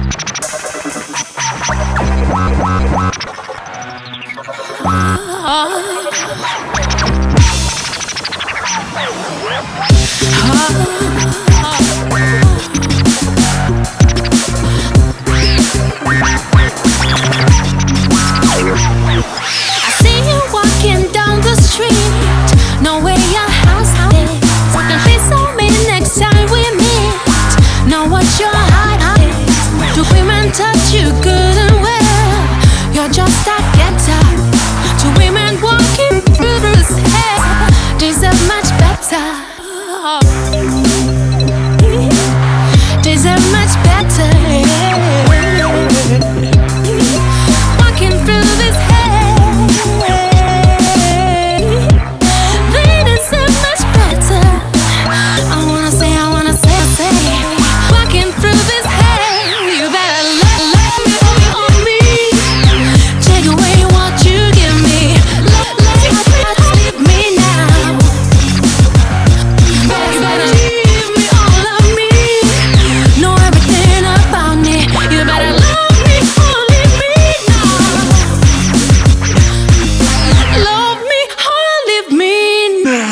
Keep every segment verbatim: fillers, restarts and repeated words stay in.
Touch you good and well. You're just a getter. Two women walking through this hell deserve much better. Deserve much better. Walking through this hell, they deserve much better. I wanna say, I wanna say, say. Walking through this hell, you better love, love me, on me. Take away what you give me. Love, love, love, leave me now. You better leave me, all of me. Know everything about me. You better love me, or leave me now. Love me, or leave me now.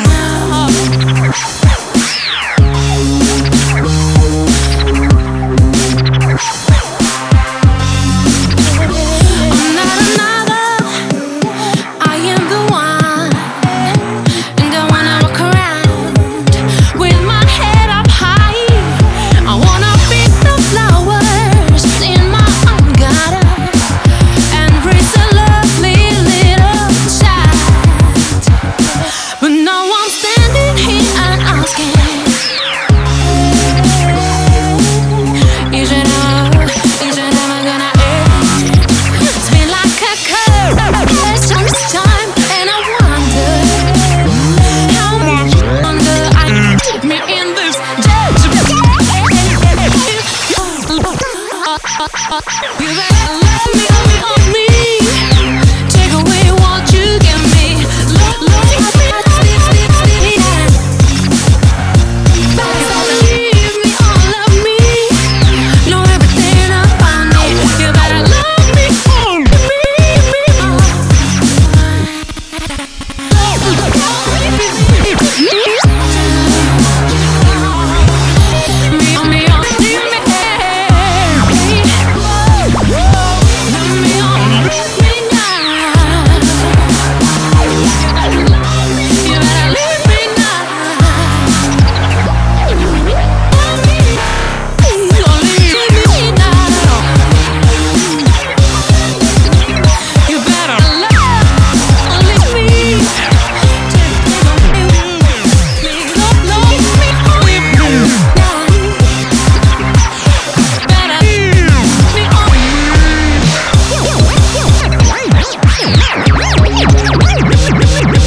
You better love me, on me. Take away what you give me. Love, love, leave, leave, leave me down. Better leave me, all of me. Know everything about me. You better love me, on me, me. Me, on me, on me.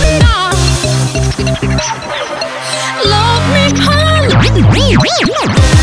Love me, honey.